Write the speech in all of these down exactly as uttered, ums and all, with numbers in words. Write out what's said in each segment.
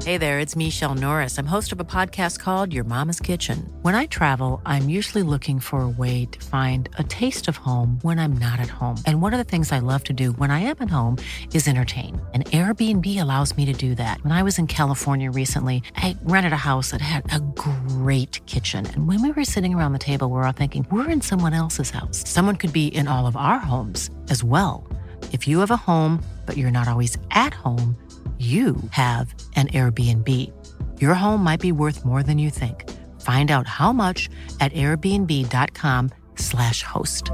Hey there, it's Michelle Norris. I'm host of a podcast called Your Mama's Kitchen. When I travel, I'm usually looking for a way to find a taste of home when I'm not at home. And one of the things I love to do when I am at home is entertain. And Airbnb allows me to do that. When I was in California recently, I rented a house that had a great kitchen. And when we were sitting around the table, we were all thinking, we're in someone else's house. Someone could be in all of our homes as well. If you have a home, but you're not always at home, you have an Airbnb. Your home might be worth more than you think. Find out how much at airbnb.com slash host.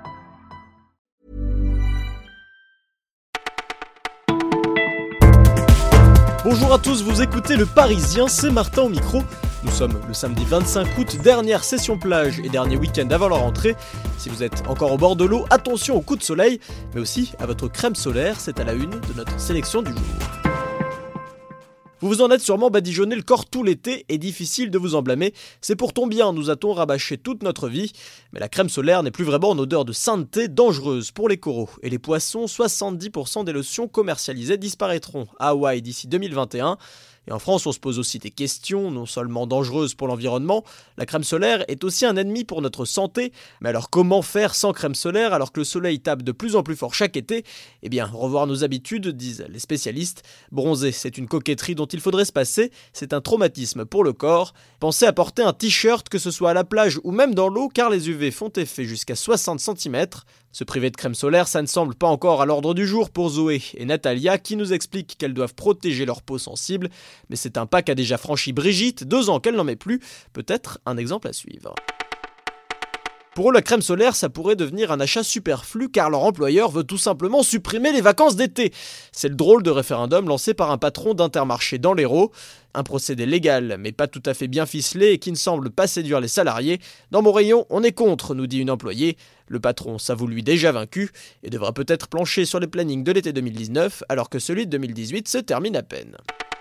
Bonjour à tous, vous écoutez Le Parisien, c'est Martin au micro. Nous sommes le samedi vingt-cinq août, dernière session plage et dernier week-end avant la rentrée. Si vous êtes encore au bord de l'eau, attention aux coups de soleil, mais aussi à votre crème solaire, c'est à la une de notre sélection du jour. Vous vous en êtes sûrement badigeonné le corps tout l'été et difficile de vous en blâmer. C'est pour ton bien, nous a-t-on rabâché toute notre vie. Mais la crème solaire n'est plus vraiment en odeur de sainteté, dangereuse pour les coraux et les poissons. soixante-dix pour cent des lotions commercialisées disparaîtront à Hawaï d'ici deux mille vingt et un. Et en France, on se pose aussi des questions, non seulement dangereuses pour l'environnement, la crème solaire est aussi un ennemi pour notre santé. Mais alors comment faire sans crème solaire alors que le soleil tape de plus en plus fort chaque été ? Eh bien, revoir nos habitudes, disent les spécialistes. Bronzer, c'est une coquetterie dont il faudrait se passer, c'est un traumatisme pour le corps. Pensez à porter un t-shirt, que ce soit à la plage ou même dans l'eau, car les U V font effet jusqu'à soixante centimètres. Se priver de crème solaire, ça ne semble pas encore à l'ordre du jour pour Zoé et Natalia qui nous expliquent qu'elles doivent protéger leur peau sensible. Mais c'est un pas qu'a déjà franchi Brigitte, deux ans qu'elle n'en met plus. Peut-être un exemple à suivre. Pour eux, la crème solaire, ça pourrait devenir un achat superflu car leur employeur veut tout simplement supprimer les vacances d'été. C'est le drôle de référendum lancé par un patron d'Intermarché dans l'Hérault. Un procédé légal, mais pas tout à fait bien ficelé et qui ne semble pas séduire les salariés. Dans mon rayon, on est contre, nous dit une employée. Le patron s'avoue lui déjà vaincu et devra peut-être plancher sur les plannings de l'été deux mille dix-neuf alors que celui de deux mille dix-huit se termine à peine.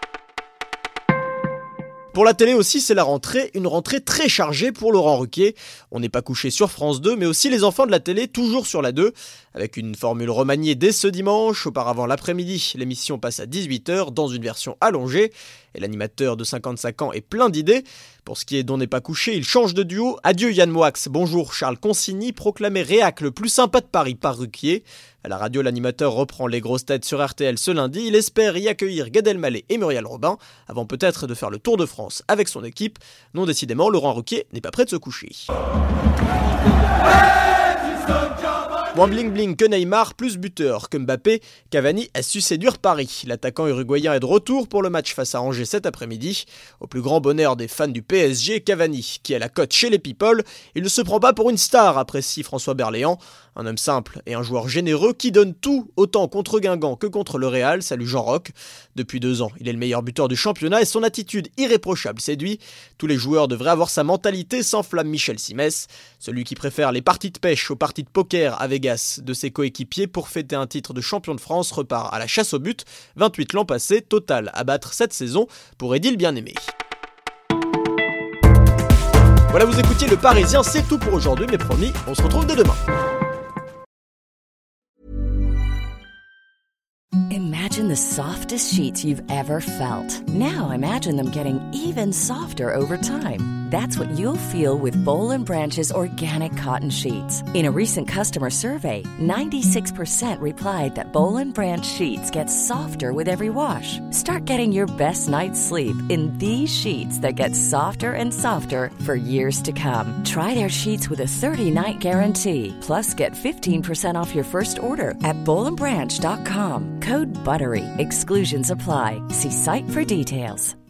Pour la télé aussi, c'est la rentrée, une rentrée très chargée pour Laurent Ruquier. On n'est pas couché sur France deux, mais aussi les enfants de la télé, toujours sur la deux. Avec une formule remaniée dès ce dimanche, auparavant l'après-midi, l'émission passe à dix-huit heures dans une version allongée. Et l'animateur de cinquante-cinq ans est plein d'idées. Pour ce qui est d'On n'est pas couché, il change de duo. Adieu Yann Moix, bonjour Charles Consigny, proclamé réac le plus sympa de Paris par Ruquier. À la radio, l'animateur reprend les grosses têtes sur R T L ce lundi. Il espère y accueillir Gad Elmaleh et Muriel Robin, avant peut-être de faire le Tour de France avec son équipe. Non, décidément, Laurent Ruquier n'est pas prêt de se coucher. Moins bling-bling que Neymar, plus buteur que Mbappé, Cavani a su séduire Paris. L'attaquant uruguayen est de retour pour le match face à Angers cet après-midi. Au plus grand bonheur des fans du P S G, Cavani, qui a la cote chez les people, il ne se prend pas pour une star, apprécie François Berléand. Un homme simple et un joueur généreux qui donne tout, autant contre Guingamp que contre le Real, salue Jean Roch. Depuis deux ans, il est le meilleur buteur du championnat et son attitude irréprochable séduit. Tous les joueurs devraient avoir sa mentalité, s'enflamme Michel Simès. Celui qui préfère les parties de pêche aux parties de poker à Vegas de ses coéquipiers pour fêter un titre de champion de France repart à la chasse au but. vingt-huit l'an passé, total à battre cette saison pour Edil Bien-Aimé. Voilà, vous écoutiez Le Parisien, c'est tout pour aujourd'hui, mais promis, on se retrouve dès demain. Imagine the softest sheets you've ever felt. Now imagine them getting even softer over time. That's what you'll feel with Boll and Branch's organic cotton sheets. In a recent customer survey, ninety-six percent replied that Boll and Branch sheets get softer with every wash. Start getting your best night's sleep in these sheets that get softer and softer for years to come. Try their sheets with a thirty-night guarantee. Plus, get fifteen percent off your first order at boll and branch dot com. Code BUTTERY. Exclusions apply. See site for details.